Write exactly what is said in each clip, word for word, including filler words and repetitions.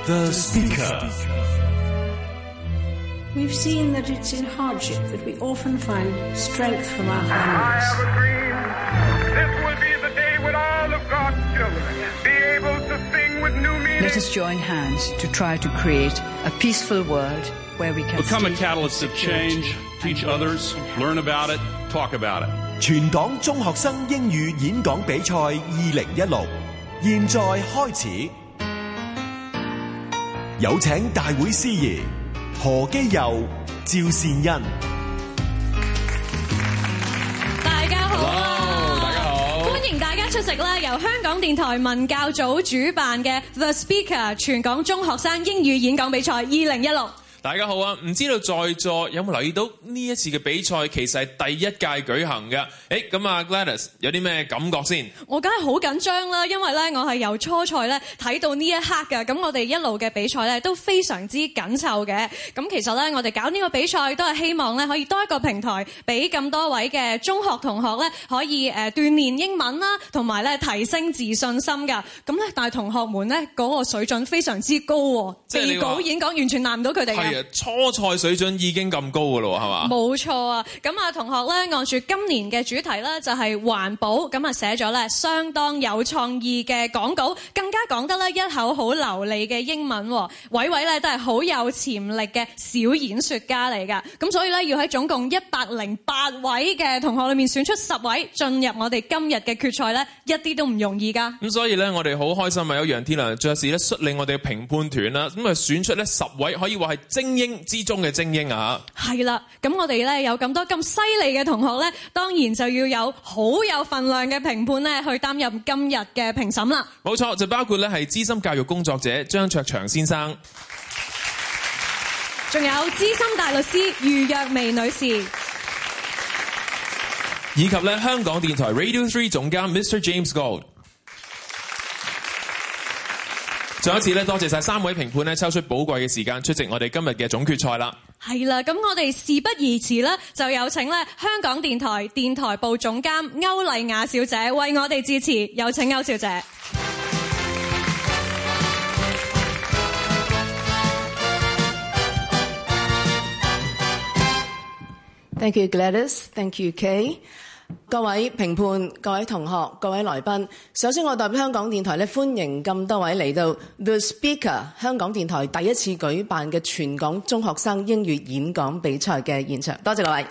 The Speaker. We've seen that it's in hardship that we often find strength from our families. I have a dream. This will be the day when all of God's children be able to sing with new meaning. Let us join hands to try to create a peaceful world where we can become a catalyst of change, teach others, learn about it, talk about it. 全港中學生英語演講比賽二零一六現在開始，有請大會司儀何基佑、趙善恩。 大家好啊！ Hello， 大家好， 歡迎大家出席啦！由香港電台文教組主辦嘅 The Speaker 全港中學生英語演講比賽二零一六。 大家好啊！唔知道在座有冇留意到呢一次嘅比賽其實係第一屆舉行嘅？誒咁啊 Gladys 有啲咩感覺先？ 我梗係好緊張啦，因為咧我係由初賽咧睇到呢一刻嘅，咁我哋一路嘅比賽咧都非常之緊湊嘅。咁其實咧我哋搞呢個比賽都係希望咧可以多一個平台，俾咁多位嘅中學同學咧可以誒鍛鍊英文啦，同埋咧提升自信心㗎。咁咧但係同學們咧嗰個水準非常之高喎，備稿演講完全難唔到佢哋嘅。 初賽水準已經咁高㗎咯，係嘛？ 冇錯啊！咁啊，同學咧按住今年嘅主題咧就係環保，咁啊寫咗咧相當有創意嘅講稿，更加講得咧一口好流利嘅英文。位位咧都係好有潛力嘅小演說家嚟㗎。咁所以咧要喺總共一百零八位嘅同學裏面選出十位進入我哋今日嘅決賽咧，一啲都唔容易㗎。 咁所以咧我哋好開心啊！有楊天良爵士咧率領我哋嘅評判團啦，咁啊選出咧十位可以話係精英之中嘅精英啊！係啦，咁我哋咧有咁多咁犀利嘅同學咧，當然就要有好有份量嘅評判咧，去擔任今日嘅評審啦。 冇錯，就包括咧係資深教育工作者張卓祥先生， 仲有資深大律師余若薇女士， 以及咧香港電台 Radio Three 總監 Mister James Gold。再一次咧，多謝晒三位評判咧，抽出寶貴嘅時間出席我哋今日嘅總決賽啦。 係啦，咁我哋事不宜遲啦，就有請咧香港電台電台部總監歐麗雅小姐為我哋致辭，有請歐小姐。 Thank you, Gladys. Thank you, Kay. 各位評判、各位同學、各位來賓，首先我代表香港電台咧，歡迎咁多位嚟到 The Speaker 香港電台第一次舉辦嘅全港中學生英語演講比賽嘅現場，多謝各位。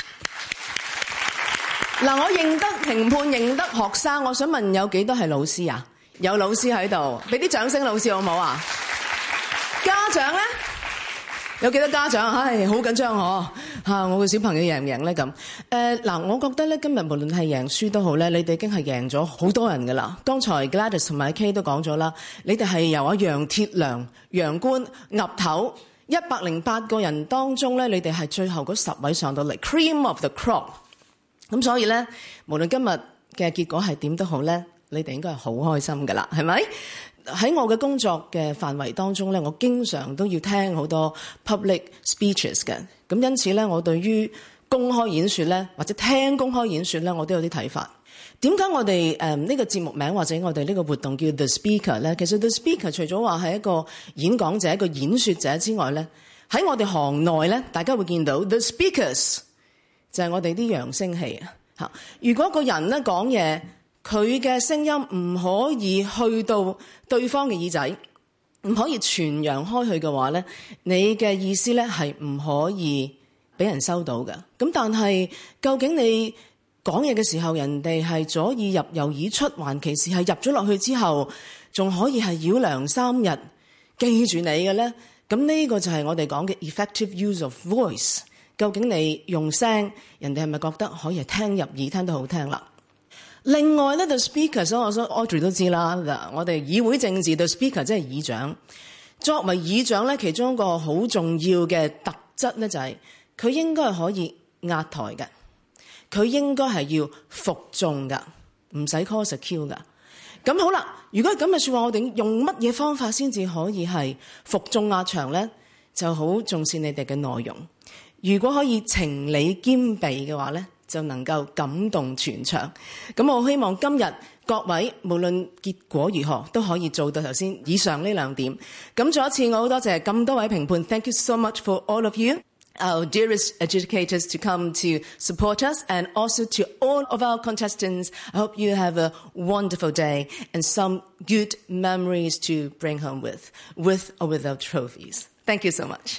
嗱，我認得評判，認得學生，我想問有幾多係老師啊？有老師喺度，俾啲掌聲老師好唔好啊？家長咧？有幾多家長？唉，好緊張嗬嚇！我個小朋友贏唔贏咧咁？誒嗱、呃，我覺得咧今日無論係贏輸都好咧，你哋已經係贏咗好多人噶啦。剛才 Gladys 同埋 Kay 都講咗啦，你哋係由阿楊鐵良、楊官、岌頭一百零八個人當中咧，你哋係最後嗰十位上到嚟 ，cream of the crop。咁所以咧，無論今日嘅結果係點都好咧，你哋應該係好開心噶啦，係咪？喺我嘅工作嘅範圍當中咧，我經常都要聽好多 public speeches 嘅，咁因此咧，我對於公開演說咧，或者聽公開演說咧，我都有啲睇法。點解我哋誒呢個節目名或者我哋呢個活動叫 The Speaker 咧？其實 The Speaker 除咗話係一個演講者、一個演說者之外咧，喺我哋行內咧，大家會見到 The Speakers 就係我哋啲揚聲器啊！嚇，如果個人咧講嘢，佢嘅聲音唔可以去到對方嘅耳仔，唔可以傳揚開去嘅話咧，你嘅意思咧係唔可以俾人收到嘅。咁但係究竟你講嘢嘅時候，人哋係左耳入右耳出，還其是係入咗落去之後，仲可以係繞梁三日記住你嘅咧？咁呢個就係我哋講嘅 effective use of voice。究竟你用聲，人哋係咪覺得可以係聽入耳，聽得好聽啦？另外咧 ，the speaker， 所以我想 Audrey 都知啦。嗱，我哋議會政治 the speaker 即係議長。作為議長咧，其中一個好重要嘅特質咧，就係佢應該係可以壓台嘅，佢應該係要服眾噶，唔使 call secure 噶。咁好啦，如果係咁嘅說話，我哋用乜嘢方法先至可以係服眾壓場咧？就好重視你哋嘅內容。如果可以情理兼備嘅話咧， 就能夠感動全場。咁我希望今日各位無論結果如何都可以做到頭先以上呢兩點。咁再一次我好多謝咁多位評判 ，Thank you so much for all of you, our dearest educators to come to support us, and also to all of our contestants. I hope you have a wonderful day and some good memories to bring home with, with or without trophies. Thank you so much.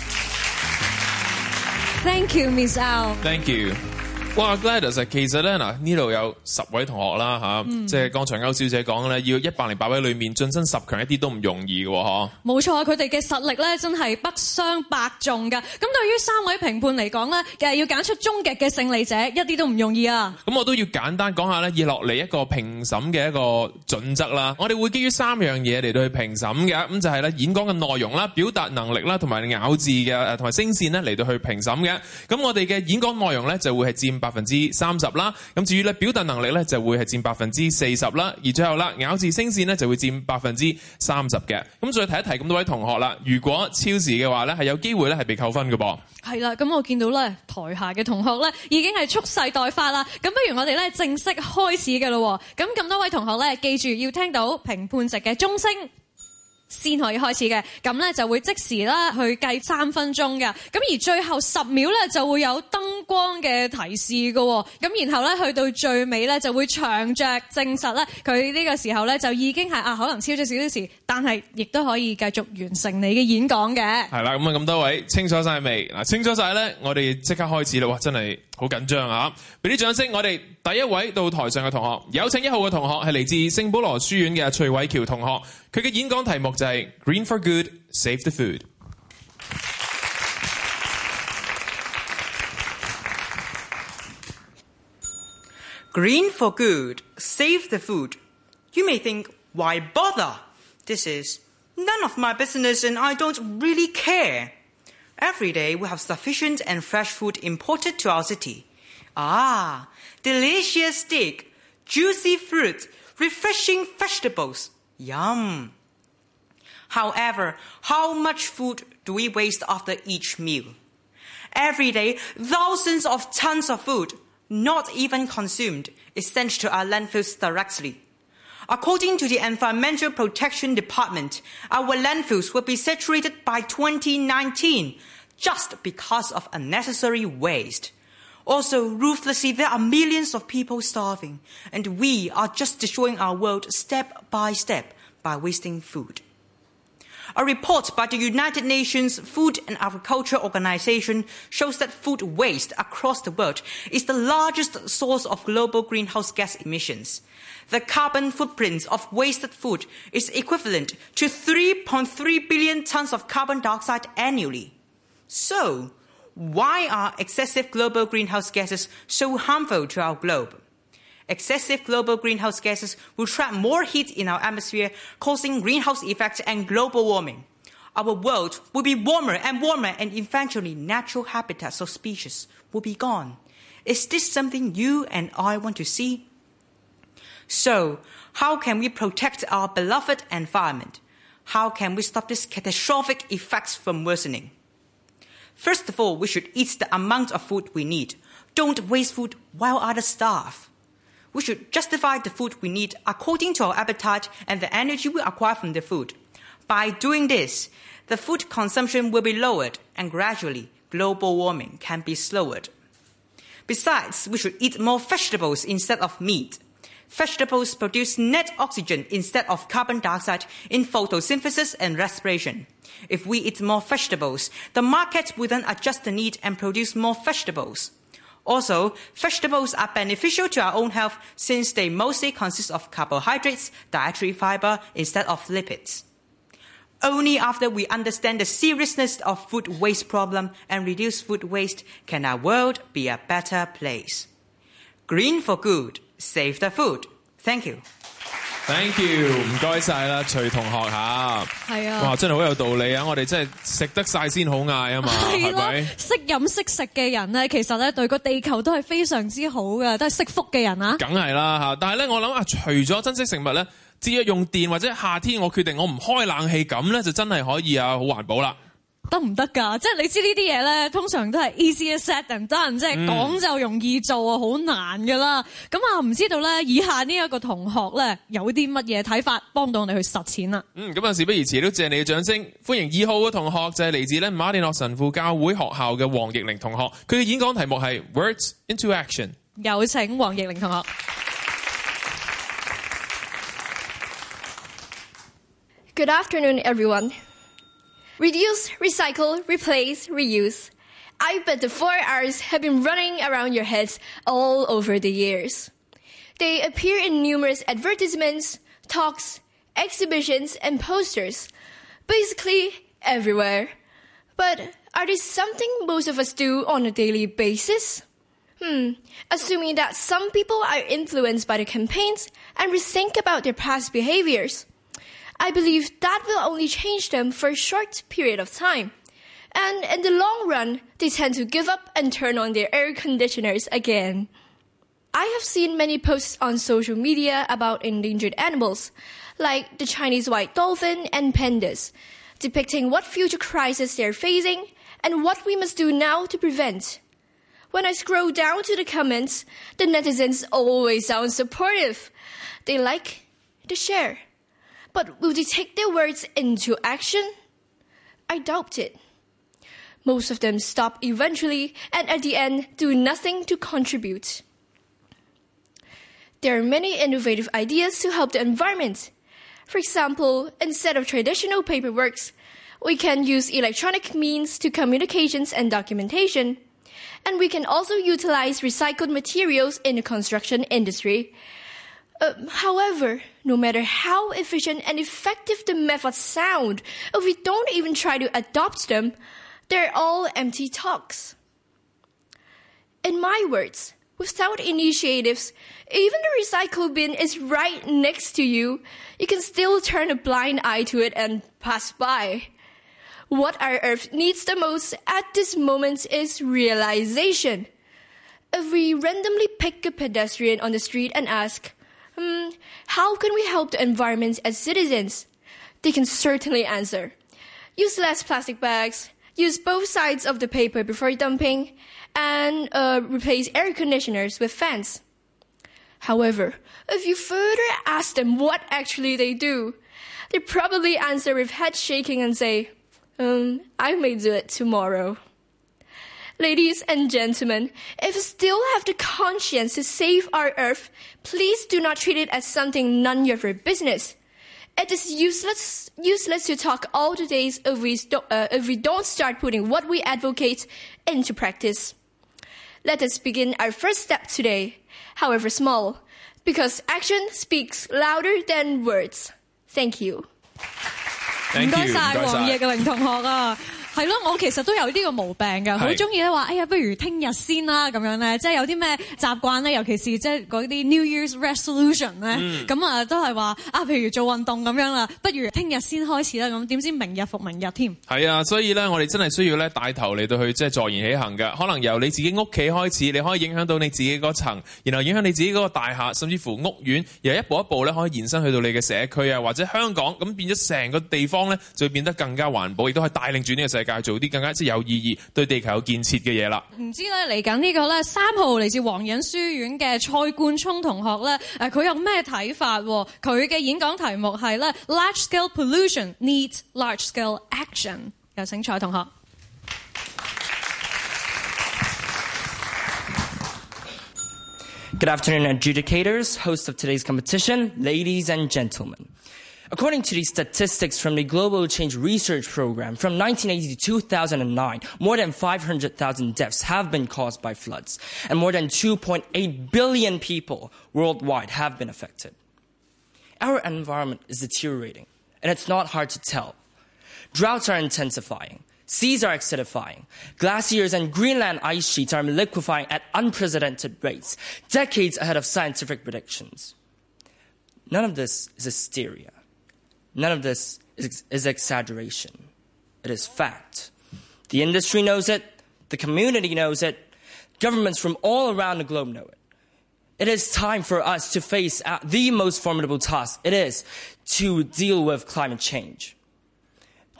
Thank you, Miss Au. Thank you. 哇 Gladys 其實咧嗱呢度有十位同學啦嚇，嗯、即係剛才歐小姐講咧，要一百零八位裏面晉身十強一啲都唔容易嘅喎，嗬。 冇錯，佢哋嘅實力咧真係不相伯仲㗎。咁對於三位評判嚟講咧，誒要揀出終極嘅勝利者，一啲都唔容易啊。 咁我都要簡單講下咧，以落嚟一個評審嘅一個準則啦。我哋會基於三樣嘢嚟到去評審嘅，咁就係咧演講嘅內容啦、表達能力啦，同埋咬字嘅誒同埋聲線咧嚟到去評審嘅。咁我哋嘅演講內容咧就會係佔百分之三十啦，咁至於咧表達能力咧就會係佔百分之四十啦，而最後啦咬字聲線咧就會佔百分之三十嘅。咁再提一提咁多位同學啦，如果超時嘅話咧係有機會咧係被扣分嘅噃。 係啦，咁我見到咧台下嘅同學咧已經係蓄勢待發啦，咁不如我哋咧正式開始嘅咯。咁咁多位同學咧記住要聽到評判席嘅鐘聲先可以開始嘅，咁咧就會即時啦去計三分鐘嘅，咁而最後十秒咧就會有燈光嘅提示嘅，咁然後咧去到最尾咧就會長着證實咧佢呢個時候咧就已經係啊可能超咗少少時，但係亦都可以繼續完成你嘅演講嘅。係啦，咁啊咁多位清楚晒未？嗱，清楚晒咧，我哋即刻開始啦！哇，真係好緊張啊！俾啲掌聲，我哋第一位到台上嘅同學，有請一號嘅同學係嚟自聖保羅書院嘅徐偉喬同學，佢嘅演講題目就係 Green for Good, Save the Food。 Green for good, save the food. You may think, why bother? This is none of my business and I don't really care. Every day we have sufficient and fresh food imported to our city. Ah, delicious steak, juicy fruit, refreshing vegetables. Yum. However, how much food do we waste after each meal? Every day, thousands of tons of food, not even consumed, is sent to our landfills directly. According to the Environmental Protection Department, our landfills will be saturated by twenty nineteen just because of unnecessary waste. Also, ruthlessly, there are millions of people starving, and we are just destroying our world step by step by wasting food. A report by the United Nations Food and Agriculture Organization shows that food waste across the world is the largest source of global greenhouse gas emissions. The carbon footprint of wasted food is equivalent to three point three billion tons of carbon dioxide annually. So, why are excessive global greenhouse gases so harmful to our globe? Excessive global greenhouse gases will trap more heat in our atmosphere, causing greenhouse effects and global warming. Our world will be warmer and warmer, and eventually natural habitats of species will be gone. Is this something you and I want to see? So, how can we protect our beloved environment? How can we stop these catastrophic effects from worsening? First of all, we should eat the amount of food we need. Don't waste food while others starve. We should justify the food we need according to our appetite and the energy we acquire from the food. By doing this, the food consumption will be lowered, and gradually global warming can be slowed. Besides, we should eat more vegetables instead of meat. Vegetables produce net oxygen instead of carbon dioxide in photosynthesis and respiration. If we eat more vegetables, the market will then adjust the need and produce more vegetables. Also, vegetables are beneficial to our own health since they mostly consist of carbohydrates, dietary fiber, instead of lipids. Only after we understand the seriousness of food waste problem and reduce food waste can our world be a better place. Green for good, save the food. Thank you. Thank you， 唔該晒啦，徐同學嚇。係啊，哇，真係好有道理啊！我哋真係食得晒先好嗌啊嘛，係咪？ 識飲識食嘅人咧，其實咧對個地球都係非常之好嘅，都係識福嘅人啊。梗係啦嚇，但係咧我諗啊，除咗珍惜食物咧，節約用電或者夏天我決定我唔開冷氣咁咧，就真係可以啊，好環保啦。 得唔得㗎？即係你知呢啲嘢咧，通常都係 easier said than done，即係講就容易做啊，好難㗎啦。咁啊，唔知道咧，以下呢一個同學咧有啲乜嘢睇法，幫到我哋去實踐啦。 嗯，咁啊，事不宜遲，都謝你嘅掌聲，歡迎二號嘅同學就係嚟自咧馬甸諾神父教會學校嘅黃奕玲同學，佢嘅演講題目係 Words into Action。 有請黃奕玲同學。 Good afternoon, everyone. Reduce, recycle, replace, reuse. I bet the four R's have been running around your heads all over the years. They appear in numerous advertisements, talks, exhibitions, and posters. Basically, everywhere. But are they something most of us do on a daily basis? Hmm, assuming that some people are influenced by the campaigns and rethink about their past behaviors. I believe that will only change them for a short period of time. And in the long run, they tend to give up and turn on their air conditioners again. I have seen many posts on social media about endangered animals, like the Chinese white dolphin and pandas, depicting what future crises they're facing and what we must do now to prevent. When I scroll down to the comments, the netizens always sound supportive. They like, they share. But will they take their words into action? I doubt it. Most of them stop eventually and at the end do nothing to contribute. There are many innovative ideas to help the environment. For example, instead of traditional paperworks, we can use electronic means to communications and documentation. And we can also utilize recycled materials in the construction industry. Uh, however, no matter how efficient and effective the methods sound, if we don't even try to adopt them, they're all empty talks. In my words, without initiatives, even the recycle bin is right next to you. You can still turn a blind eye to it and pass by. What our Earth needs the most at this moment is realization. If we randomly pick a pedestrian on the street and ask, Hmm, how can we help the environment as citizens? They can certainly answer. Use less plastic bags, use both sides of the paper before dumping, and uh, replace air conditioners with fans. However, if you further ask them what actually they do, they probably answer with head shaking and say, um, I may do it tomorrow. Ladies and gentlemen, if you still have the conscience to save our Earth, please do not treat it as something none of your business. It is useless, useless to talk all the days if we, st- uh, if we don't start putting what we advocate into practice. Let us begin our first step today, however small, because action speaks louder than words. Thank you. Thank you. 唔該晒黃奕玲同學啊！係咯，我其實都有呢個毛病㗎，好中意咧話，哎呀，不如聽日先啦咁樣咧，即係有啲咩習慣咧，尤其是即係嗰啲 New Year's Resolution 咧，咁啊都係話啊，譬如做運動咁樣啦，不如聽日先開始啦，咁點知明日復明日添。係啊，所以咧我哋真係需要咧帶頭嚟到去即係坐言起行嘅，可能由你自己屋企開始，你可以影響到你自己嗰層，然後影響你自己嗰個大廈，甚至乎屋苑，然後一步一步咧可以延伸去到你嘅社區啊，或者香港，咁變咗成個地方咧就會變得更加環保，亦都可以帶領住呢個世界做啲更加即係有意義、對地球有建設嘅嘢啦。唔知咧嚟緊呢個咧三號嚟自黃隱書院嘅蔡冠聰同學咧，誒佢有咩睇法？佢嘅演講題目係咧 Large Scale Pollution Needs Large Scale Action。有請蔡同學。 Good afternoon, adjudicators, hosts of today's competition, ladies and gentlemen. According to the statistics from the Global Change Research Program, from nineteen eighty to two thousand nine, more than five hundred thousand deaths have been caused by floods, and more than two point eight billion people worldwide have been affected. Our environment is deteriorating, and it's not hard to tell. Droughts are intensifying. Seas are acidifying. Glaciers and Greenland ice sheets are liquefying at unprecedented rates, decades ahead of scientific predictions. None of this is hysteria. None of this is, is exaggeration. It is fact. The industry knows it. The community knows it. Governments from all around the globe know it. It is time for us to face the most formidable task it is to deal with climate change.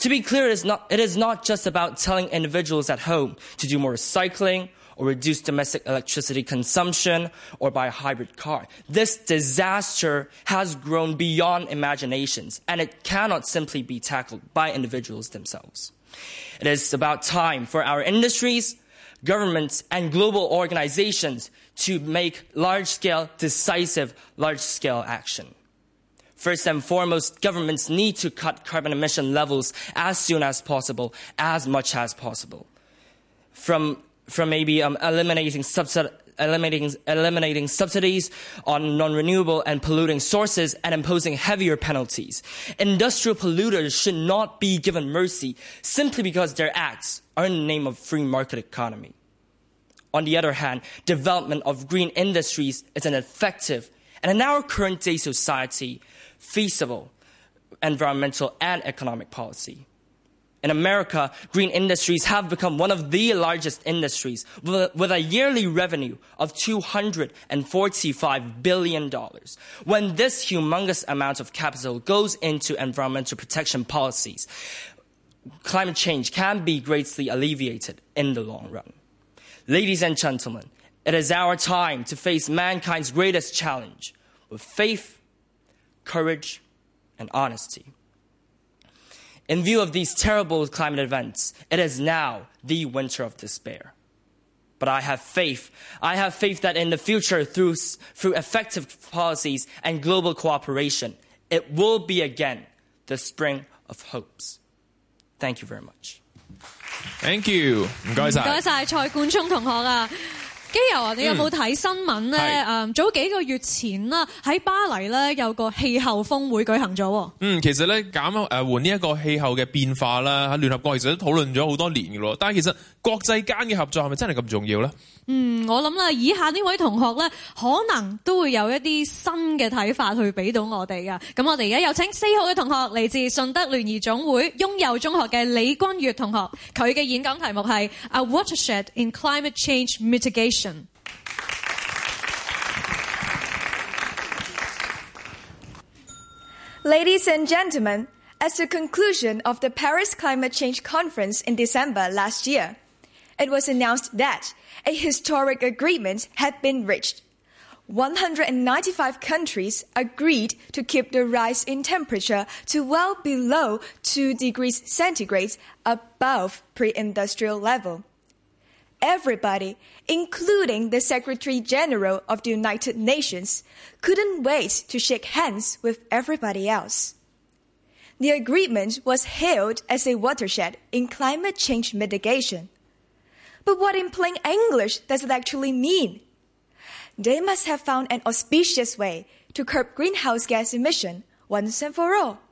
To be clear, it is not, it is not just about telling individuals at home to do more recycling or reduce domestic electricity consumption or buy a hybrid car. This disaster has grown beyond imaginations, and it cannot simply be tackled by individuals themselves. It is about time for our industries, governments, and global organizations to make large-scale, decisive, large-scale action. First and foremost, governments need to cut carbon emission levels as soon as possible, as much as possible. From, from maybe um, eliminating, subsidi- eliminating, eliminating subsidies on non-renewable and polluting sources and imposing heavier penalties. Industrial polluters should not be given mercy simply because their acts are in the name of free market economy. On the other hand, development of green industries is an effective and in our current day society, feasible environmental and economic policy. In America, green industries have become one of the largest industries with a yearly revenue of two hundred forty-five billion dollars. When this humongous amount of capital goes into environmental protection policies, climate change can be greatly alleviated in the long run. Ladies and gentlemen, it is our time to face mankind's greatest challenge with faith, courage, and honesty. In view of these terrible climate events, it is now the winter of despair. But I have faith. I have faith that in the future, through, through effective policies and global cooperation, it will be again the spring of hopes. Thank you very much. Thank you， 唔該晒。 唔該晒蔡冠聰同學啊。基友啊，你有冇睇新聞咧？誒，早幾個月前啦，喺巴黎咧有個氣候峰會舉行咗。 嗯，其實咧減誒緩呢一個氣候嘅變化啦，喺聯合國其實都討論咗好多年嘅咯。但係其實國際間嘅合作係咪真係咁重要咧？ 嗯，我諗啦，以下呢位同學咧，可能都會有一啲新嘅睇法去俾到我哋噶。咁我哋而家有請四號嘅同學，嚟自順德聯誼總會雍祐中學嘅李君悅同學，佢嘅演講題目係 A Watershed in Climate Change Mitigation。 Ladies and gentlemen, as the conclusion of the Paris Climate Change Conference in December last year, it was announced that a historic agreement had been reached. one hundred ninety-five countries agreed to keep the rise in temperature to well below two degrees centigrade above pre-industrial level. Everybody, including the Secretary-General of the United Nations, couldn't wait to shake hands with everybody else. The agreement was hailed as a watershed in climate change mitigation. But what in plain English does it actually mean? They must have found an auspicious way to curb greenhouse gas emission once and for all.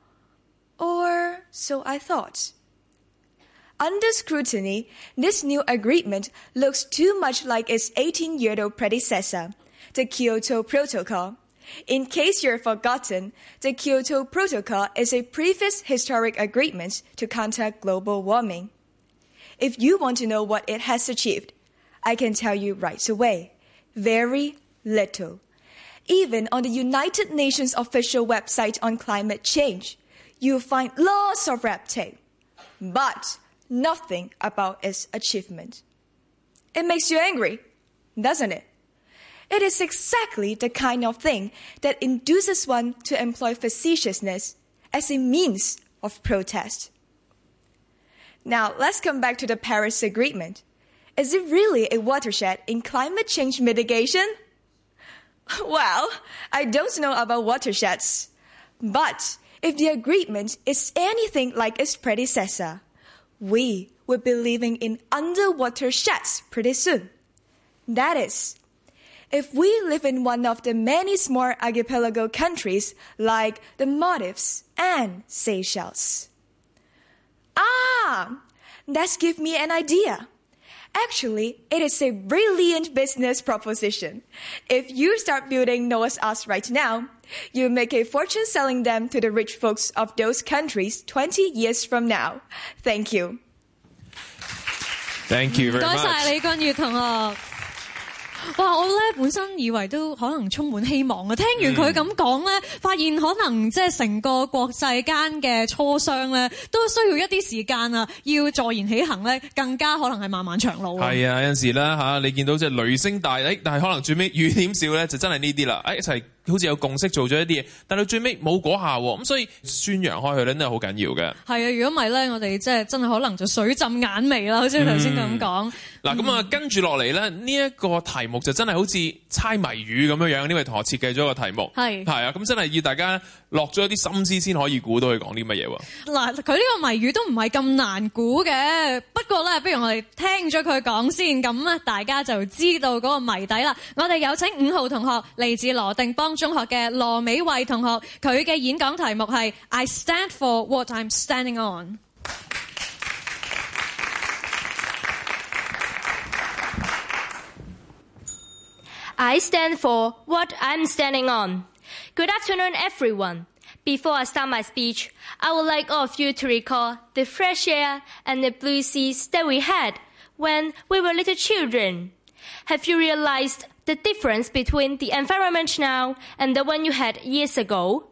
Or so I thought. Under scrutiny, this new agreement looks too much like its eighteen-year-old predecessor, the Kyoto Protocol. In case you're forgotten, the Kyoto Protocol is a previous historic agreement to counter global warming. If you want to know what it has achieved, I can tell you right away. Very little. Even on the United Nations official website on climate change, you'll find lots of red tape. But nothing about its achievement. It makes you angry, doesn't it? It is exactly the kind of thing that induces one to employ facetiousness as a means of protest. Now, let's come back to the Paris Agreement. Is it really a watershed in climate change mitigation? Well, I don't know about watersheds. But if the agreement is anything like its predecessor, we will be living in underwater sheds pretty soon. That is, if we live in one of the many small archipelago countries like the Maldives and Seychelles. Ah, that's give me an idea. Actually, it is a brilliant business proposition. If you start building Noah's Arks right now, you'll make a fortune selling them to the rich folks of those countries twenty years from now. Thank you. Thank you very much. 多謝李君悅同學。 哇！我咧本身以為都可能充滿希望啊，聽完佢咁講咧，發現可能即係成個國際間嘅磋商咧，都需要一啲時間啊，要坐言起行咧，更加可能係漫漫長路。 係啊，有陣時啦嚇，你見到即係雷聲大，誒，但係可能最尾雨點少咧，就真係呢啲啦，誒一齊。好似有共識做咗一啲嘢，但係最尾冇果效喎，咁所以宣揚開去咧都係好緊要嘅。係啊，如果唔係咧，我哋即係真係可能就水浸眼眉啦，好似頭先咁講。嗱咁啊，跟住落嚟咧，呢一個題目就真係好似猜謎語咁樣樣。呢位同學設計咗個題目，係係啊，咁真係要大家落咗一啲心思先可以估到佢講啲乜嘢喎。嗱，佢呢個謎語都唔係咁難估嘅，不過咧，不如我哋聽咗佢講先，咁啊大家就知道嗰個謎底啦。我哋有請五號同學，嚟自羅定邦中學嘅羅美慧同學，佢嘅演講題目係 I stand for what I'm standing on。 I stand for what I'm standing on. Good afternoon, everyone. Before I start my speech, I would like all of you to recall the fresh air and the blue seas that we had when we were little children. Have you realized the difference between the environment now and the one you had years ago?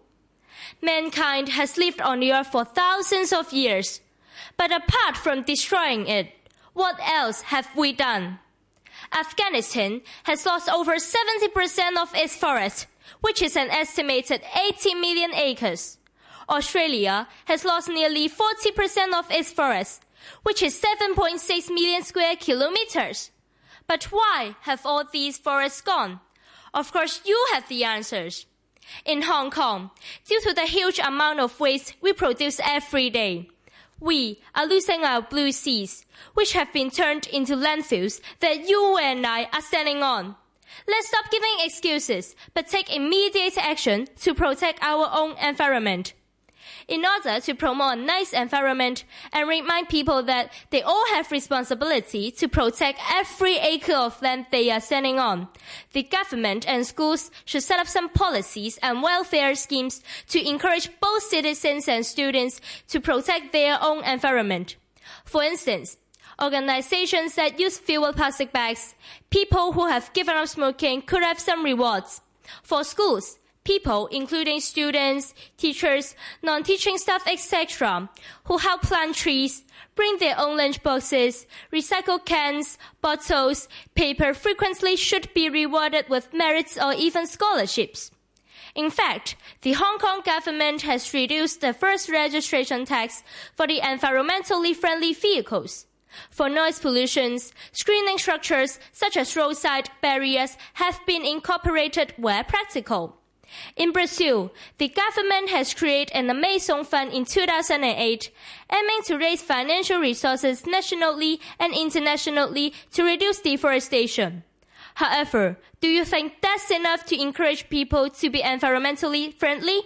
Mankind has lived on the earth for thousands of years, but apart from destroying it, what else have we done? Afghanistan has lost over seventy percent of its forest, which is an estimated eighty million acres. Australia has lost nearly forty percent of its forest, which is seven point six million square kilometers. But why have all these forests gone? Of course, you have the answers. In Hong Kong, due to the huge amount of waste we produce every day, we are losing our blue seas, which have been turned into landfills that you and I are standing on. Let's stop giving excuses, but take immediate action to protect our own environment. In order to promote a nice environment and remind people that they all have responsibility to protect every acre of land they are standing on, the government and schools should set up some policies and welfare schemes to encourage both citizens and students to protect their own environment. For instance, organizations that use fewer plastic bags, people who have given up smoking could have some rewards. For schools, people, including students, teachers, non-teaching staff, et cetera, who help plant trees, bring their own lunch boxes, recycle cans, bottles, paper frequently should be rewarded with merits or even scholarships. In fact, the Hong Kong government has reduced the first registration tax for the environmentally friendly vehicles. For noise pollution, screening structures such as roadside barriers have been incorporated where practical. In Brazil, the government has created an Amazon Fund in two thousand eight, aiming to raise financial resources nationally and internationally to reduce deforestation. However, do you think that's enough to encourage people to be environmentally friendly?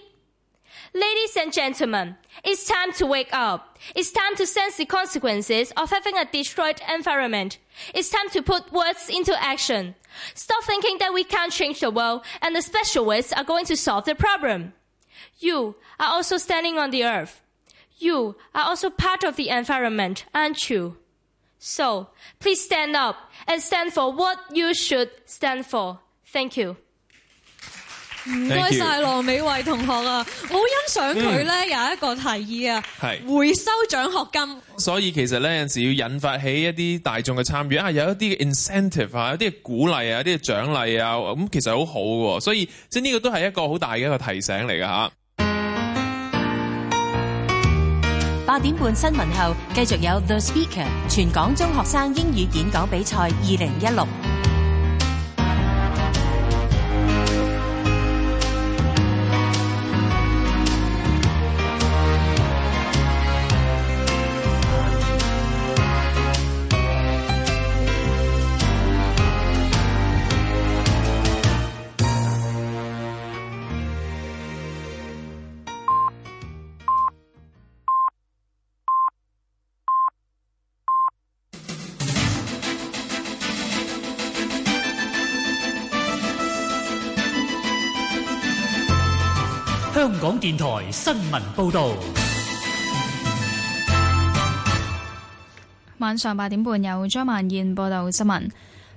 Ladies and gentlemen, it's time to wake up. It's time to sense the consequences of having a destroyed environment. It's time to put words into action. Stop thinking that we can't change the world and the specialists are going to solve the problem. You are also standing on the earth. You are also part of the environment, aren't you? So, please stand up and stand for what you should stand for. Thank you. 唔該晒羅美慧同學啊，我好欣賞佢咧有一個提議啊，回收獎學金。 所以其實咧有陣時要引發起一啲大眾嘅參與啊，有一啲嘅 incentive 啊，有啲嘅鼓勵啊，有啲嘅獎勵啊，咁其實好好嘅，所以即係呢個都係一個好大嘅一個提醒嚟㗎嚇。 八點半新聞後，繼續有 The Speaker 全港中學生英語演講比賽二零一六。 香港電台新聞報導， 晚上八點半有張曼燕報道新聞。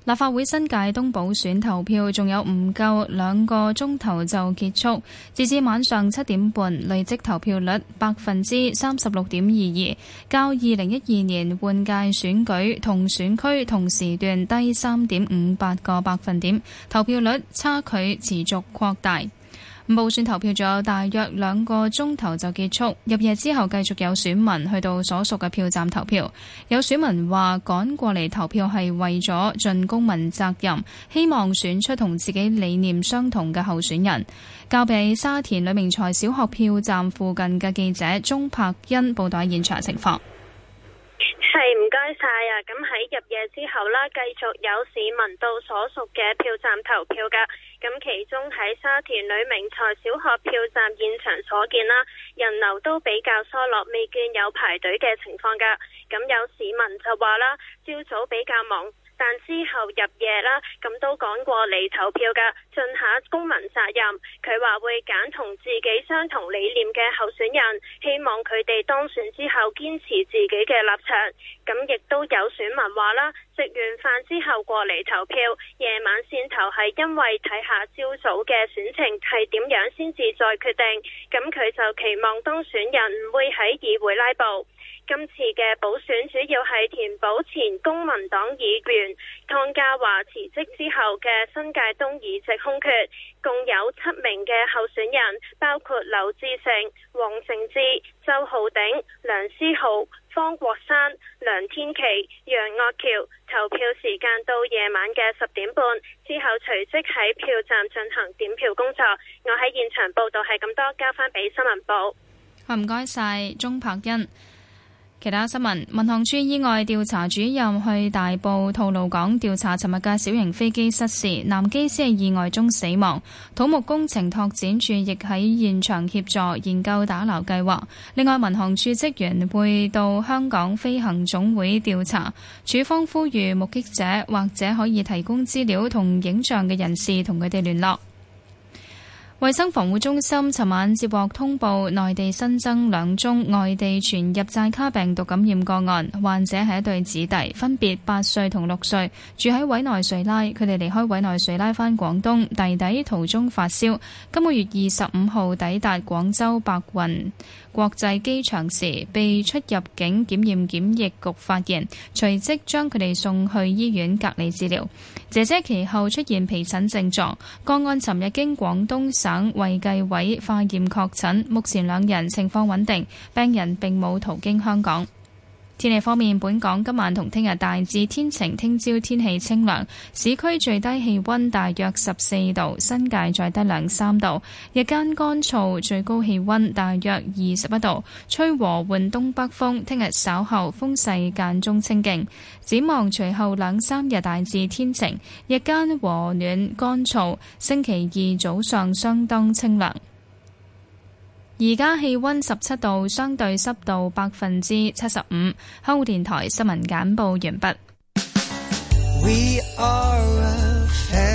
立法會新界東補選投票仲有唔夠兩個鐘頭就結束，截至晚上七點半，累積投票率百分之三十六點二二，較二零一二年換屆選舉同選區同時段低三點五八個百分點，投票率差距持續擴大。補選投票仲有大約兩個鐘頭就結束，入夜之後繼續有選民去到所屬嘅票站投票。有選民話趕過嚟投票係為咗盡公民責任，希望選出同自己理念相同嘅候選人。交俾沙田呂明才小學票站附近嘅記者鍾柏欣報道現場情況。 係唔該晒啊！咁喺入夜之後啦，繼續有市民到所屬嘅票站投票噶。咁其中喺沙田呂明才小學票站現場所見啦，人流都比較疏落，未見有排隊嘅情況噶。咁有市民就話啦，朝早比較忙，但之後入夜啦，咁都趕過嚟投票噶，盡下公民責任。佢話會揀同自己相同理念嘅候選人，希望佢哋當選之後堅持自己嘅立場。咁亦都有選民話啦，食完飯之後過嚟投票，夜晚先投係因為睇下朝早嘅選情係點樣先至再決定。咁佢就期望當選人唔會喺議會拉布。今次嘅補選主要係填補前公民黨議員湯家驊辭職之後嘅新界東議席空缺，共有七名嘅候選人，包括劉志成、黃成智、周浩鼎、梁思浩、方國山、梁天琦、楊岳橋。投票時間到夜晚嘅十點半，之後隨即喺票站進行點票工作。我喺現場報道係咁多，交翻俾新聞部。 好，唔該晒鍾柏欣。其他新聞，民航處意外調查主任去大埔吐露港調查尋日嘅小型飛機失事，男機師喺意外中死亡。土木工程拓展處亦喺現場協助研究打撈計劃。另外，民航處職員會到香港飛行總會調查。處方呼籲目擊者或者可以提供資料同影像嘅人士同佢哋聯絡。衛生防護中心尋晚接獲通報，內地新增兩宗外地傳入寨卡病毒感染個案，患者係一對子弟，分別八歲同六歲，住喺委內瑞拉。佢哋離開委內瑞拉返廣東，弟弟途中發燒，今個月二十五號抵達廣州白雲國際機場時，被出入境檢驗檢疫局發現，隨即將佢哋送去醫院隔離治療。姐姐其後出現皮疹症狀，個案尋日經廣東省衛計委化驗確診，目前兩人情況穩定，病人並冇途經香港。天氣方面，本港今晚同聽日大致天晴，聽朝天氣清涼，市區最低氣溫大約十四度，新界再低兩三度，日間乾燥，最高氣溫大約二十一度，吹和緩東北風，聽日稍後風勢間中清勁。展望隨後兩三日大致天晴，日間和暖乾燥，星期二早上相當清涼。而家氣溫十七度，相對濕度百分之七十五。香港電台新聞簡報完畢。We are a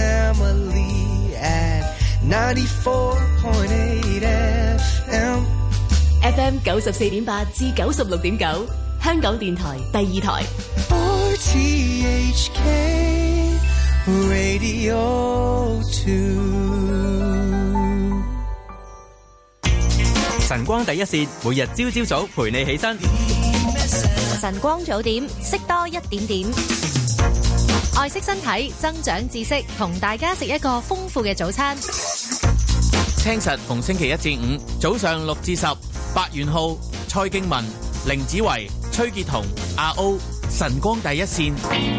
family at ninety-four point eight F M。 F M 九十四點八至九十六點九，香港電台第二台。 R T H K Radio two。晨光第一線，每日朝朝早陪你起身。 晨光早點，識多一點點。愛惜身體，增長知識，同大家食一個豐富嘅早餐。 聽實逢星期一至五早上六至十，白元浩、蔡敬文、凌子維、崔潔彤、阿 O。晨光第一線。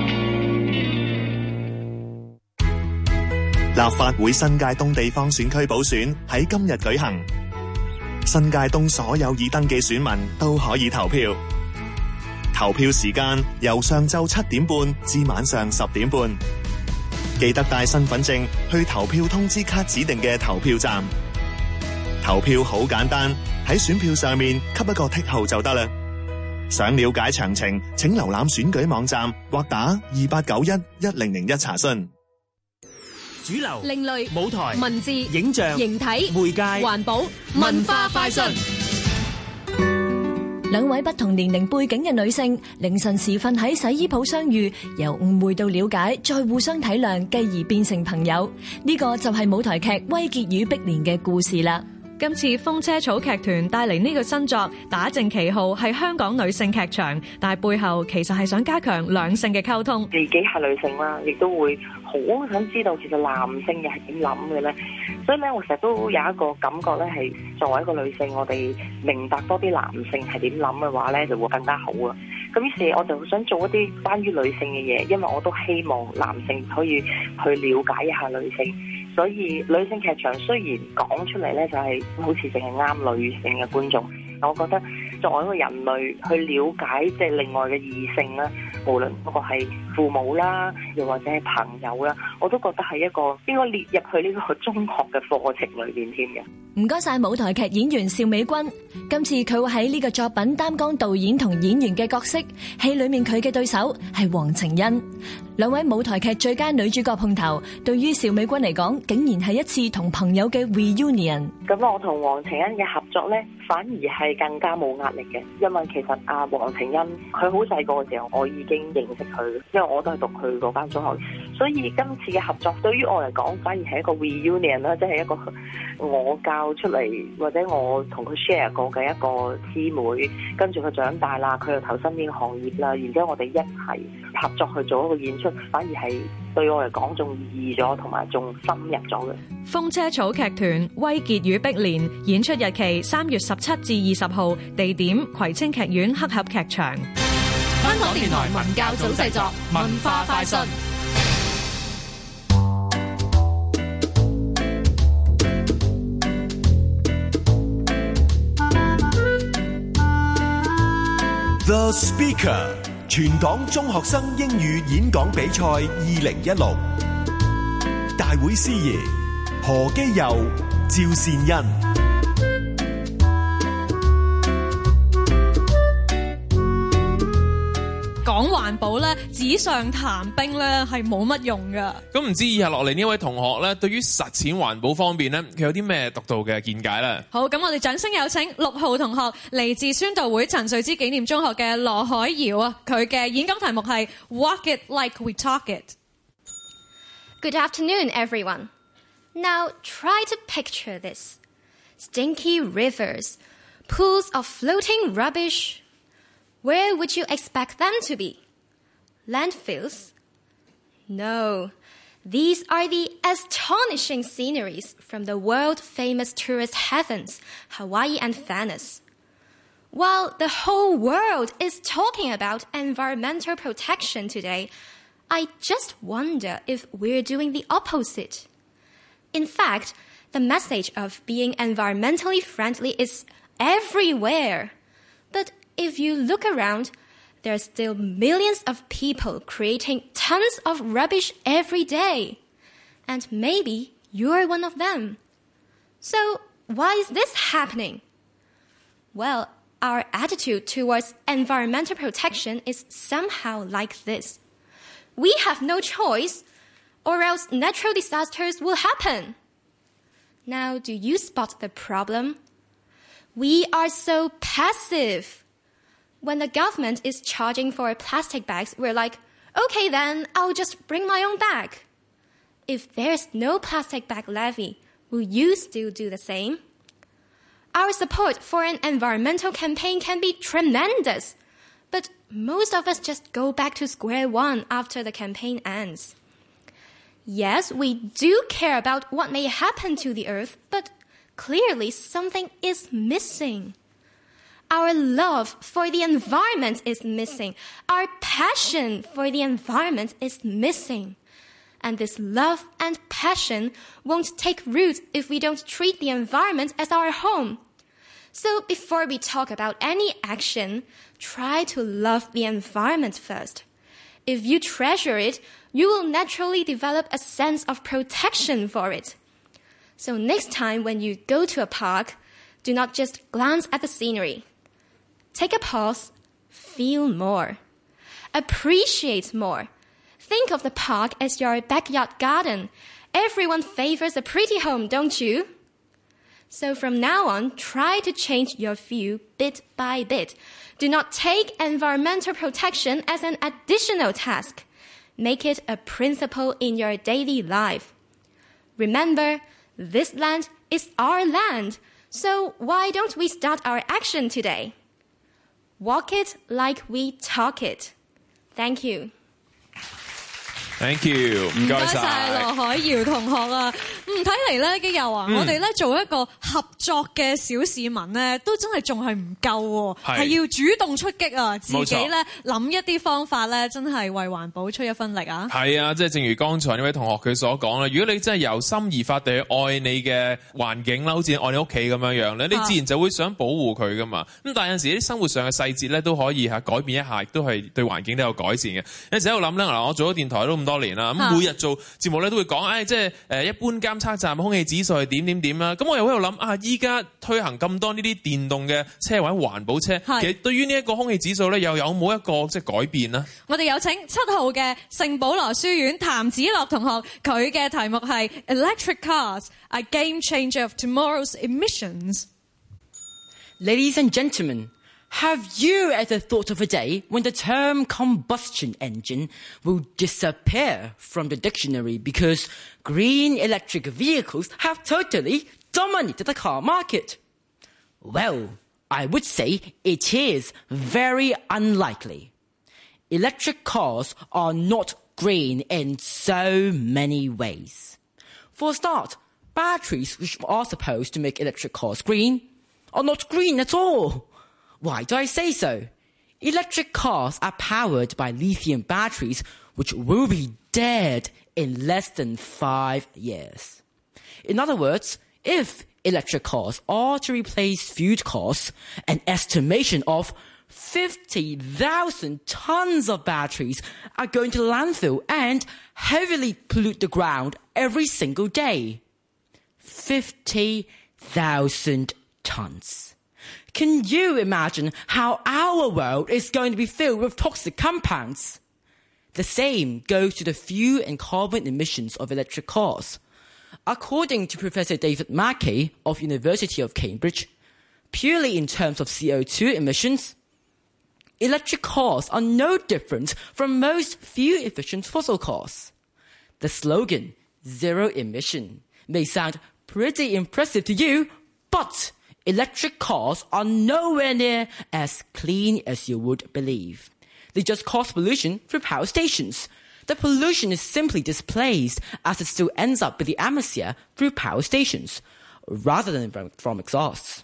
立法會新界東地方選區補選喺今日舉行。新界東所有已登記選民都可以投票，投票時間由上晝七點半至晚上十點半。記得帶身份證去投票通知卡指定嘅投票站。投票好簡單，喺選票上面給一個剔號就得啦。想了解詳情，請瀏覽選舉網站或打二八九一一零零一查詢。 主流、 另類、 舞台、 文字、 影像、 形體、 媒介、 環保、文化快訊。 兩位不同年齡背景嘅女性，凌晨時分喺洗衣鋪相遇，由誤會到了解，再互相體諒，繼而變成朋友。呢個就係舞台劇《威傑與碧蓮》嘅故事啦。 今次風車草劇團帶嚟呢個新作，打正旗號係香港女性劇場，但係背後其實係想加強兩性嘅溝通。 自己係女性啦，亦都會好想知道其實男性嘅係點諗嘅咧。所以咧，我成日都有一個感覺咧，係作為一個女性，我哋明白多啲男性係點諗嘅話咧，就會更加好啊。咁於是我就想做一啲關於女性嘅嘢，因為我都希望男性可以去了解一下女性。所以女性劇場雖然講出嚟咧，就係好似淨係啱女性嘅觀眾，我覺得作為一個人類去了解即係另外嘅異性啦，無論嗰個係父母啦，又或者係朋友啦，我都覺得係一個應該列入去呢個中學嘅課程裏邊添嘅。 唔該晒舞台劇演員邵美君，今次佢會喺呢個作品擔當導演同演員嘅角色，戲裏面佢嘅對手係黃晴欣。兩位舞台劇最佳女主角碰頭，對於邵美君嚟講，竟然係一次同朋友嘅 reunion。 咁我同黃晴欣嘅合作呢，反而係更加冇壓力嘅，因為其實阿黃晴欣佢好細個嘅時候，我已經認識佢，因為我都係讀佢嗰間中學，所以今次嘅合作對於我嚟講，反而係一個 reunion 啦，即係一個我教出嚟或者我同佢 share 過嘅一個姊妹，跟住佢長大啦，佢又投身呢個行業啦，然之後我哋一齊合作去做一個演出，反而係對我嚟講仲易咗，同埋仲深入咗嘅。 風車草劇團《威傑與碧蓮》演出日期三月十七至二十號，地點葵青劇院黑盒劇場。 香港電台文教組製作，文化快訊。 The Speaker 全港中學生英語演講比賽二零一六，大會司儀何基佑、趙善恩。 講環保咧，紙上談兵咧係冇乜用噶。 咁唔知以下落嚟呢位同學咧，對於實踐環保方面咧，佢有啲咩獨到嘅見解咧？ 好，咁我哋掌聲有請六號同學，嚟自宣道會陳瑞之紀念中學嘅羅海瑤啊，佢嘅演講題目係 Walk it like we talk it。 Good afternoon, everyone. Now try to picture this. Stinky rivers, pools of floating rubbish.Where would you expect them to be? Landfills? No, these are the astonishing sceneries from the world-famous tourist heavens, Hawaii and Venice. While the whole world is talking about environmental protection today, I just wonder if we're doing the opposite. In fact, the message of being environmentally friendly is everywhere. But,If you look around, there are still millions of people creating tons of rubbish every day. And maybe you're one of them. So why is this happening? Well, our attitude towards environmental protection is somehow like this. We have no choice, or else natural disasters will happen. Now, do you spot the problem? We are so passive.When the government is charging for plastic bags, we're like, okay then, I'll just bring my own bag. If there's no plastic bag levy, will you still do the same? Our support for an environmental campaign can be tremendous, but most of us just go back to square one after the campaign ends. Yes, we do care about what may happen to the earth, but clearly something is missing.Our love for the environment is missing. Our passion for the environment is missing. And this love and passion won't take root if we don't treat the environment as our home. So before we talk about any action, try to love the environment first. If you treasure it, you will naturally develop a sense of protection for it. So next time when you go to a park, do not just glance at the scenery.Take a pause, feel more, appreciate more. Think of the park as your backyard garden. Everyone favors a pretty home, don't you? So from now on, try to change your view bit by bit. Do not take environmental protection as an additional task. Make it a principle in your daily life. Remember, this land is our land, so why don't we start our action today? Walk it like we talk it. Thank you. Thank you，唔該晒羅海瑤同學啊。嗯，睇嚟咧，基友啊， 嗯、 我哋咧做一個合作嘅小市民咧，都真係仲係唔夠喎，係要主動出擊啊，自己咧諗一啲方法咧，真係為環保出一分力啊。 係啊，即係正如剛才呢位同學佢所講啦，如果你真係由心而發地去愛你嘅環境啦，好似愛你屋企咁樣樣咧，你自然就會想保護佢噶嘛。咁但係有陣時啲生活上嘅細節咧都可以嚇改變一下，亦都係對環境都有改善嘅。有陣時喺度諗咧，嗱，我做咗電台都咁多年啦，咁每日做節目咧都會講，誒、哎，即係誒一般監測站空氣指數係點點點啦。咁我又喺度諗啊，依家推行咁多呢啲電動嘅車或者環保車，其實對於呢一個空氣指數咧，又有冇一個即係改變呢？ 我哋有請七號嘅聖保羅書院譚子樂同學，佢嘅題目係 Electric Cars, a Game Changer of Tomorrow's Emissions. Ladies and gentlemen, have you ever thought of a day when the term combustion engine will disappear from the dictionary because green electric vehicles have totally dominated the car market? Well, I would say it is very unlikely. Electric cars are not green in so many ways. For a start, batteries which are supposed to make electric cars green are not green at all. Why do I say so? Electric cars are powered by lithium batteries, which will be dead in less than five years. In other words, if electric cars are to replace fuel cars, an estimation of fifty thousand tons of batteries are going to landfill and heavily pollute the ground every single day. fifty thousand tons. Can you imagine how our world is going to be filled with toxic compounds? The same goes to the fuel and carbon emissions of electric cars. According to Professor David Mackey of University of Cambridge, purely in terms of C O two emissions, electric cars are no different from most fuel-efficient fossil cars. The slogan, zero emission, may sound pretty impressive to you, but electric cars are nowhere near as clean as you would believe. They just cause pollution through power stations. The pollution is simply displaced as it still ends up with the atmosphere through power stations, rather than from exhausts.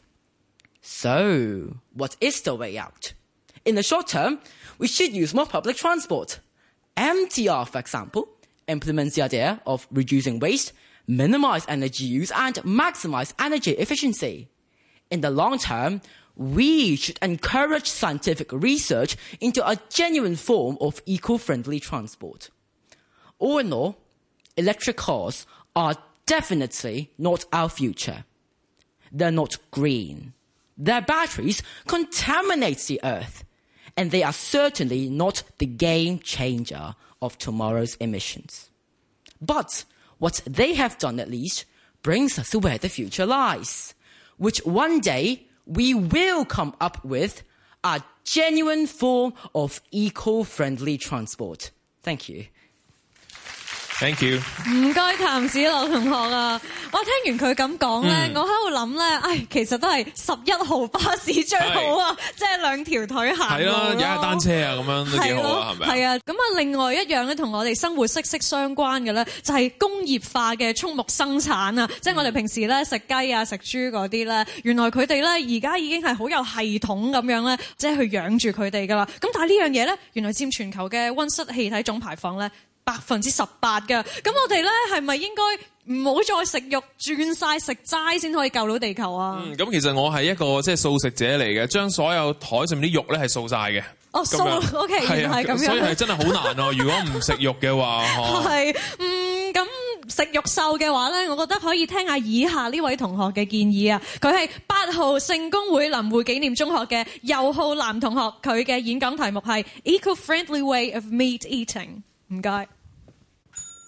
So, what is the way out? In the short term, we should use more public transport. M T R, for example, implements the idea of reducing waste, minimize energy use, and maximize energy efficiency. In the long term, we should encourage scientific research into a genuine form of eco-friendly transport. All in all, electric cars are definitely not our future. They're not green. Their batteries contaminate the earth, and they are certainly not the game changer of tomorrow's emissions. But what they have done at least brings us to where the future lies, which one day we will come up with a genuine form of eco-friendly transport. Thank you. Thank you. 唔該，譚子樂同學啊！我聽完佢咁講咧，我喺度諗咧，唉，其實都係十一號巴士最好啊，即係兩條腿行路咯。係咯，踩下單車啊，咁樣都幾好啊，係咪啊？係啊，咁啊，另外一樣咧，同我哋生活息息相關嘅咧，就係工業化嘅畜牧生產啊！即係我哋平時咧食雞啊、食豬嗰啲咧，原來佢哋咧而家已經係好有系統咁樣咧，即係去養住佢哋噶啦。咁但係呢樣嘢咧，原來佔全球嘅溫室氣體總排放咧百分之十八㗎，咁我哋咧係咪應該唔好再食肉，轉晒食齋先可以救到地球啊？ 嗯，咁其實我係一個即係素食者嚟嘅，將所有台上面啲肉咧係掃晒嘅。 哦，掃 ，OK，原來係咁樣。所以係真係好難啊！如果唔食肉嘅話，係嗯咁食肉獸嘅話咧，我覺得可以聽下以下呢位同學嘅建議啊。佢係八號聖公會林匯紀念中學嘅尤浩南同學，佢嘅演講題目係 Eco-friendly way of meat eating。唔該。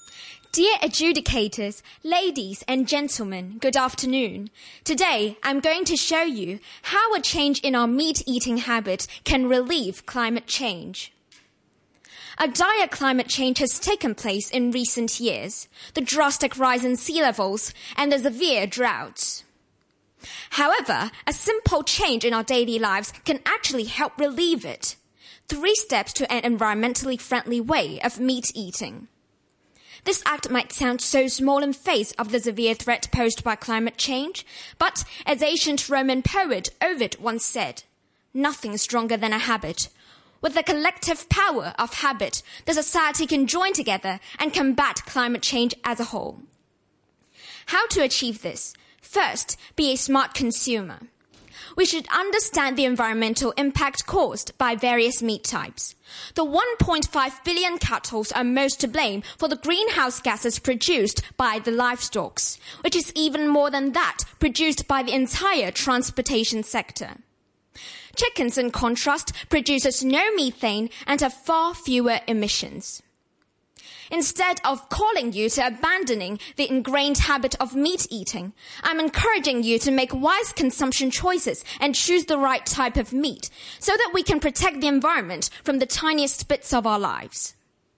Dear adjudicators, ladies and gentlemen, good afternoon. Today, I'm going to show you how a change in our meat-eating habit can relieve climate change. A dire climate change has taken place in recent years, the drastic rise in sea levels and the severe droughts. However, a simple change in our daily lives can actually help relieve it. Three steps to an environmentally friendly way of meat eating. This act might sound so small in face of the severe threat posed by climate change, but as ancient Roman poet Ovid once said, nothing is stronger than a habit. With the collective power of habit, the society can join together and combat climate change as a whole. How to achieve this? First, be a smart consumer. We should understand the environmental impact caused by various meat types. The one point five billion cattle are most to blame for the greenhouse gases produced by the livestock, which is even more than that produced by the entire transportation sector. Chickens, in contrast, produces no methane and have far fewer emissions. Instead of calling you to abandoning the ingrained habit of meat eating, I'm encouraging you to make wise consumption choices and choose the right type of meat so that we can protect the environment from the tiniest bits of our lives.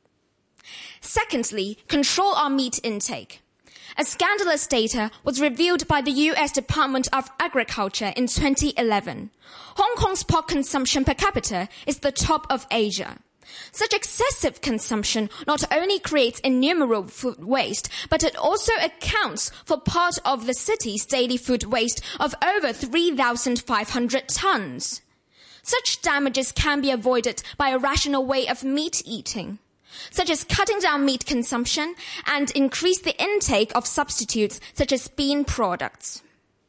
Secondly, control our meat intake. A scandalous data was revealed by the U S Department of Agriculture in twenty eleven. Hong Kong's pork consumption per capita is the top of Asia. Such excessive consumption not only creates innumerable food waste, but it also accounts for part of the city's daily food waste of over three thousand five hundred tons. Such damages can be avoided by a rational way of meat eating, such as cutting down meat consumption and increase the intake of substitutes such as bean products.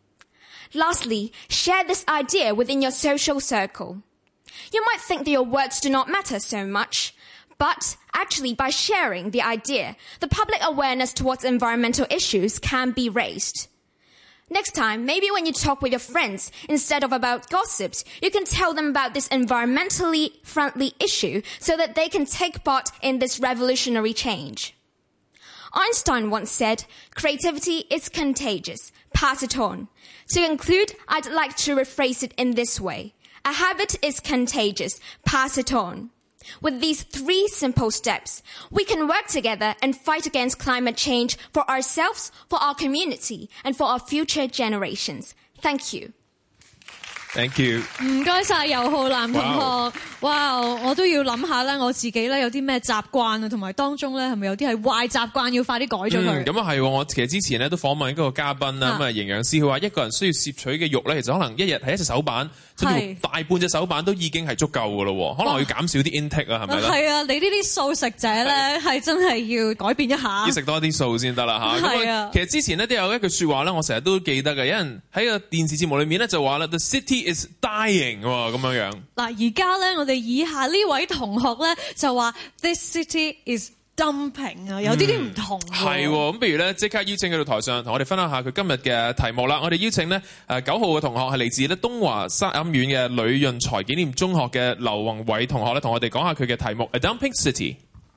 Lastly, share this idea within your social circle. You might think that your words do not matter so much, but actually by sharing the idea, the public awareness towards environmental issues can be raised. Next time, maybe when you talk with your friends, instead of about gossips, you can tell them about this environmentally friendly issue so that they can take part in this revolutionary change. Einstein once said, creativity is contagious. Pass it on. To conclude, I'd like to rephrase it in this way. A habit is contagious. Pass it on. With these three simple steps, we can work together and fight against climate change for ourselves, for our community, and for our future generations. Thank you. Thank you。 唔該晒尤浩南同學，哇！我都要諗下咧，我自己咧有啲咩習慣啊，同埋當中咧係咪有啲係壞習慣要快啲改咗佢？ 咁啊係，我其實之前咧都訪問一個嘉賓啦，咁啊營養師佢話一個人需要攝取嘅肉咧，其實可能一日係一隻手板，甚至乎大半隻手板都已經係足夠噶咯，可能要減少啲 intake 啊，係咪咧？係啊， 你呢啲素食者咧係真係要改變一下， 要食多啲素先得啦嚇。係啊，其實之前咧都有一句説話咧，我成日都記得嘅，有人喺個電視節目裏面咧就話啦 ，The city is dying 喎，咁樣樣。 嗱，而家咧，我哋以下呢位同學咧就話 ，This city is dumping 啊，有啲啲唔同。 係喎，咁不如咧即刻邀請佢到台上，同我哋分享下佢今日嘅題目啦。我哋邀請咧誒九號嘅同學係嚟自咧東華三院嘅呂潤財紀念中學嘅劉宏偉同學咧，同我哋講下佢嘅題目 A Dumping City。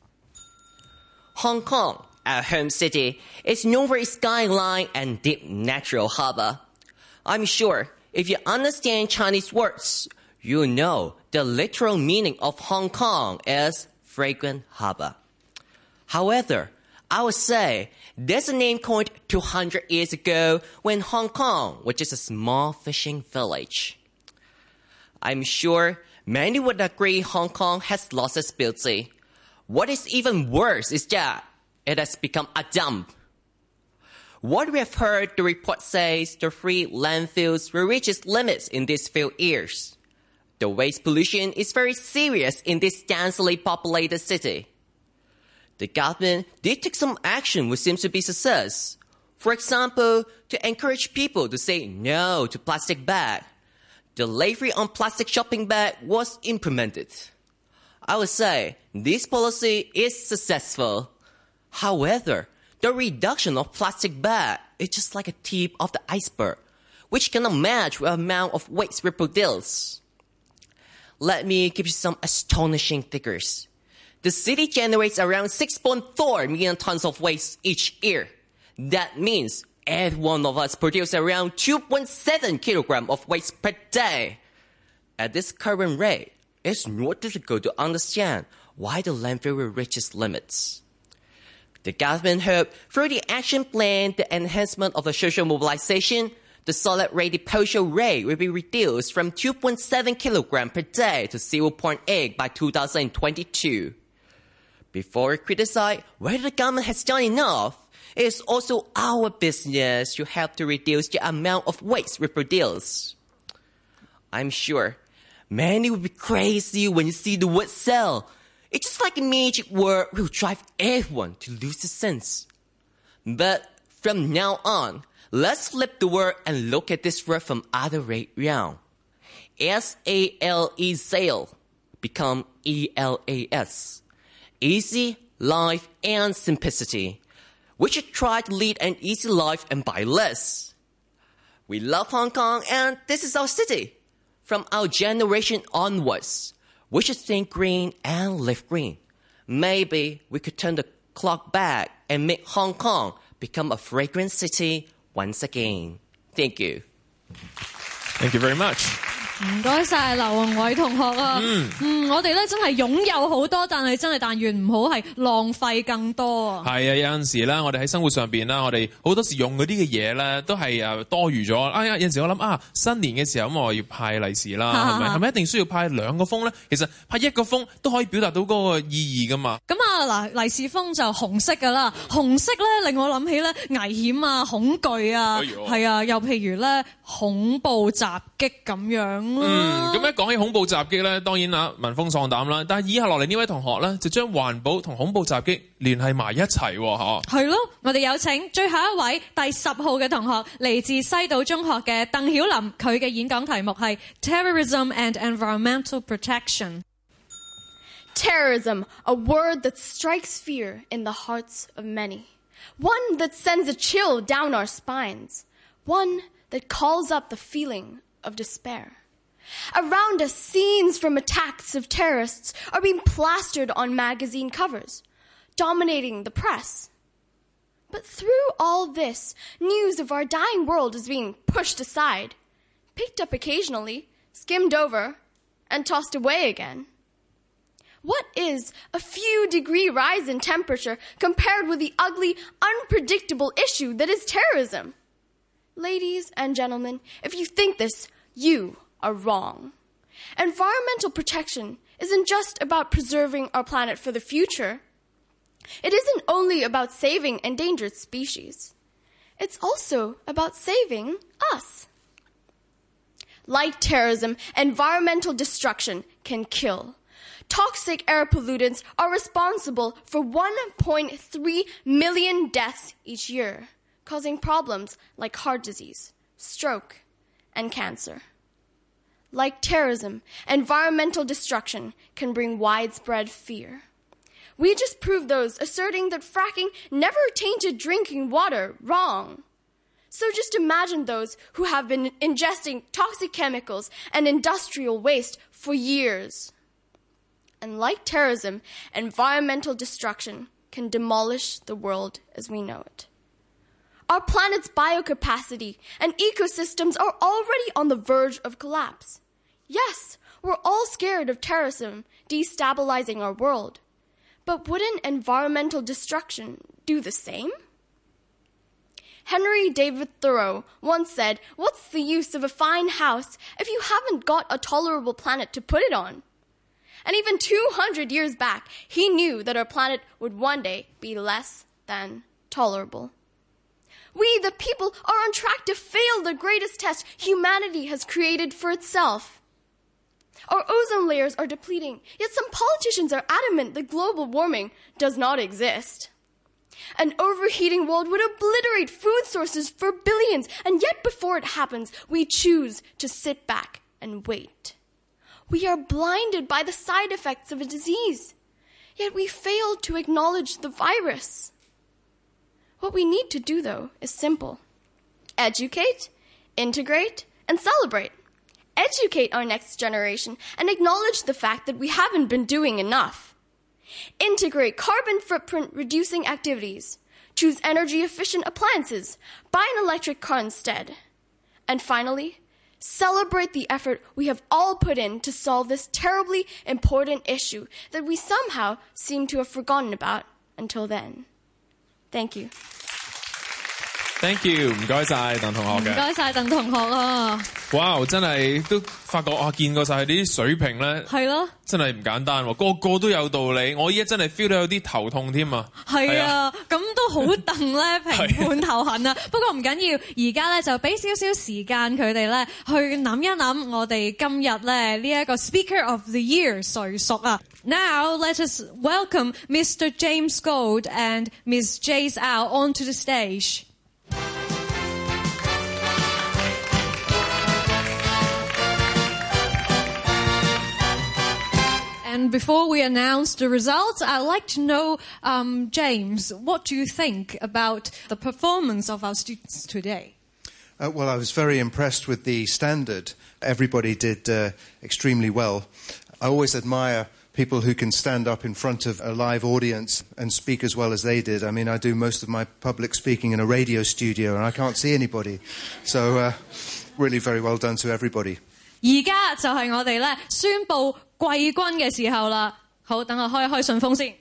Hong Kong, our home city, is known for its skyline and deep natural harbor. I'm sure if you understand Chinese words, you know the literal meaning of Hong Kong is fragrant harbor. However, I would say there's a name coined two hundred years ago when Hong Kong was just a small fishing village. I'm sure many would agree Hong Kong has lost its beauty. What is even worse is that it has become a dump. What we have heard, the report says the free landfills will reach its limits in these few years. The waste pollution is very serious in this densely populated city. The government did take some action which seems to be success. For example, to encourage people to say no to plastic bag, the label on plastic shopping bag was implemented. I would say this policy is successful. However, the reduction of plastic bag is just like a tip of the iceberg, which cannot match the amount of waste we produce. Let me give you some astonishing figures. The city generates around six point four million tons of waste each year. That means every one of us produces around two point seven kilograms of waste per day. At this current rate, it's not difficult to understand why the landfill will reach its limits. The government hoped through the action plan, the enhancement of the social mobilization, the solid waste disposal rate will be reduced from two point seven kilograms per day to zero point eight by two thousand twenty-two. Before we criticize whether the government has done enough, it is also our business to help to reduce the amount of waste we produce. I'm sure many will be crazy when you see the word sell. It's just like a magic word will drive everyone to lose the sense. But from now on, let's flip the word and look at this word from other way round. S A L E, sale, become E L A S. Easy, life, and simplicity. We should try to lead an easy life and buy less. We love Hong Kong and this is our city. From our generation onwards, we should think green and live green. Maybe we could turn the clock back and make Hong Kong become a fragrant city once again. Thank you. Thank you very much. 唔該晒劉宏偉同學啊，嗯，嗯我哋咧真係擁有好多，但係真係但願唔好係浪費更多啊。 係啊，有陣時咧，我哋喺生活上邊啦，我哋好多時用嗰啲嘅嘢咧，都係誒多餘咗。哎呀，有陣時我諗啊，新年嘅時候咁我要派利是啦，係咪？係咪一定需要派兩個封咧？其實派一個封都可以表達到嗰個意義噶嘛。 咁啊嗱，利是封就紅色噶啦，紅色咧令我諗起咧危險啊、恐懼啊，係啊，又譬如咧恐怖襲擊咁樣。 嗯，咁一講起恐怖襲擊咧，當然啊聞風喪膽啦。但係以下落嚟呢位同學咧，就將環保同恐怖襲擊聯繫埋一齊喎，嚇。係咯，我哋有請最後一位第十號嘅同學，嚟自西島中學嘅鄧曉琳，佢嘅演講題目係 Terrorism and Environmental Protection. Terrorism, a word that strikes fear in the hearts of many. One that sends a chill down our spines. One that calls up the feeling of despair. Around us, scenes from attacks of terrorists are being plastered on magazine covers, dominating the press. But through all this, news of our dying world is being pushed aside, picked up occasionally, skimmed over, and tossed away again. What is a few degree rise in temperature compared with the ugly, unpredictable issue that is terrorism? Ladies and gentlemen, if you think this, you are wrong. Environmental protection isn't just about preserving our planet for the future. It isn't only about saving endangered species. It's also about saving us. Like terrorism, environmental destruction can kill. Toxic air pollutants are responsible for one point three million deaths each year, causing problems like heart disease, stroke, and cancer. Like terrorism, environmental destruction can bring widespread fear. We just proved those asserting that fracking never tainted drinking water wrong. So just imagine those who have been ingesting toxic chemicals and industrial waste for years. And like terrorism, environmental destruction can demolish the world as we know it. Our planet's biocapacity and ecosystems are already on the verge of collapse. Yes, we're all scared of terrorism destabilizing our world. But wouldn't environmental destruction do the same? Henry David Thoreau once said, "What's the use of a fine house if you haven't got a tolerable planet to put it on?" And even two hundred years back, he knew that our planet would one day be less than tolerable. We, the people, are on track to fail the greatest test humanity has created for itself. Our ozone layers are depleting, yet some politicians are adamant that global warming does not exist. An overheating world would obliterate food sources for billions, and yet before it happens, we choose to sit back and wait. We are blinded by the side effects of a disease, yet we fail to acknowledge the virus. What we need to do, though, is simple. Educate, integrate, and celebrate. Educate our next generation and acknowledge the fact that we haven't been doing enough. Integrate carbon footprint reducing activities. Choose energy efficient appliances. Buy an electric car instead. And finally, celebrate the effort we have all put in to solve this terribly important issue that we somehow seem to have forgotten about until then. Thank you. Thank you， 唔該晒鄧同學嘅。 唔該晒鄧同學啊！ 哇，真係都發覺啊，見過晒佢啲水平咧，係咯，真係唔簡單喎，個個都有道理。我依家真係 feel 到有啲頭痛添啊！ 係啊，咁都好戥咧評判頭痕啊！不過唔緊要，而家咧就俾少少時間佢哋咧去諗一諗，我哋今日咧呢一個 Speaker of the Year 誰屬啊 ？Now let us welcome Mister James Gold and Miss Jace Au onto the stage. And before we announce the results, I'd like to know, um, James, what do you think about the performance of our students today? Uh, well, I was very impressed with the standard. Everybody did uh, extremely well. I always admire people who can stand up in front of a live audience and speak as well as they did. I mean, I do most of my public speaking in a radio studio and I can't see anybody. So uh, really very well done to everybody. 而家就係我哋咧宣佈季軍嘅時候啦。好，等我開一開順風先。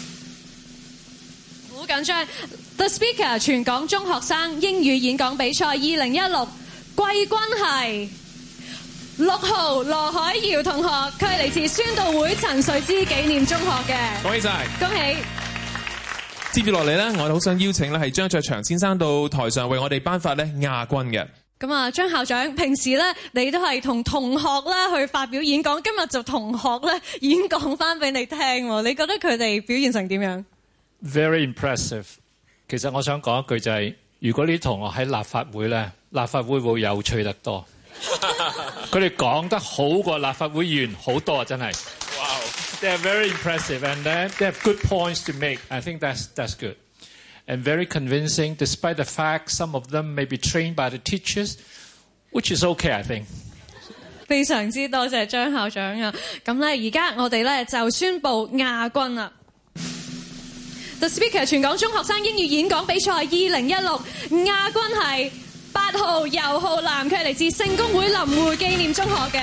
好緊張 ！The Speaker 全港中學生英語演講比賽二零一六季軍係六號羅海瑤同學，佢係嚟自宣道會陳瑞芝紀念中學嘅。 恭喜晒！ 恭喜！ 接住落嚟咧，我哋好想邀請咧係張卓祥先生到台上為我哋頒發咧亞軍嘅。 咁啊，張校長，平時咧你都係同同學啦去發表演講，今日就同學咧演講翻俾你聽喎，你覺得佢哋表現成點樣 ？Very impressive。其實我想講一句就係、是，如果呢啲同學喺立法會咧，立法會會有趣得多。佢哋講得好過立法會議員好多啊！真係。Wow. They are very impressive and they have good points to make. I think that's that's good. And very convincing, despite the fact some of them may be trained by the teachers, which is okay, I think. 非常之多謝張校長啊！咁咧，而家我哋咧就宣布亞軍啦。The Speaker 全港中學生英語演講比賽二零一六亞軍係八號游浩南，佢係嚟自聖公會林匯紀念中學嘅。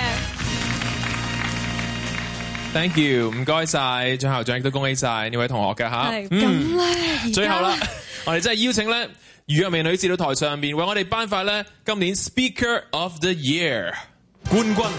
Thank you， 唔該晒張校長，亦都恭喜晒呢位同學嘅嚇。 係咁咧， 最後啦，我哋真係邀請咧余若薇女士到台上邊為我哋頒發咧今年 Speaker of the Year 冠軍。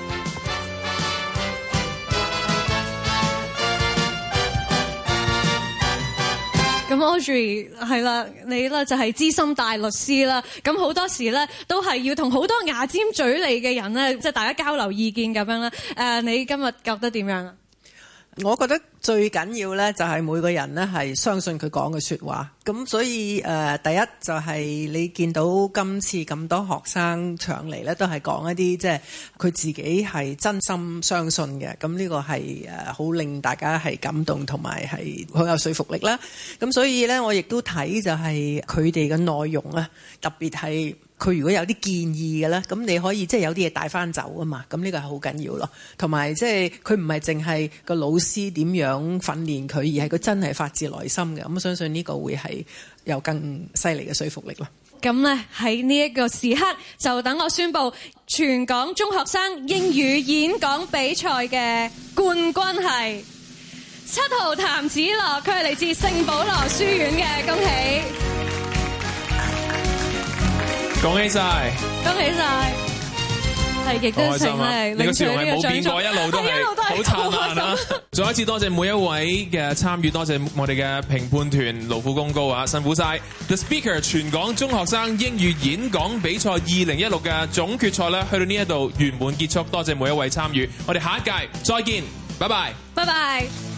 咁 Audrey 係啦，你咧就係資深大律師啦。咁好多時咧都係要同好多牙尖嘴利嘅人咧，即係大家交流意見咁樣啦。誒，你今日覺得點樣啊？ 我覺得最緊要咧就係每個人咧係相信佢講嘅説話。咁所以誒、呃，第一就係你見到今次咁多學生上嚟咧，都係講一啲即係佢自己係真心相信嘅。咁呢個係誒好令大家係感動同埋係好有說服力啦。咁所以咧，我亦都睇就係佢哋嘅內容啊，特別係佢如果有啲建議嘅咧，咁你可以即係有啲嘢帶翻走啊嘛。咁呢個係好緊要咯。同埋即係佢唔係淨係個老師點樣訓練佢，而係佢真係發自內心嘅。咁我相信呢個會係有更犀利嘅說服力咯。 咁咧喺呢一個時刻，就等我宣布全港中學生英語演講比賽嘅冠軍係七號譚子樂，佢係嚟自聖保羅書院嘅，恭喜！ 恭喜晒！ 恭喜晒！係亦都成咧， 你個笑容係冇變過，一路都係好燦爛啊！再一次多謝每一位嘅參與，多謝我哋嘅評判團勞苦功高啊，辛苦晒 ！The Speaker 全港中學生英語演講比賽二零一六嘅總決賽咧，去到呢一度圓滿結束，多謝每一位參與，我哋下一屆再見，拜拜， 拜拜。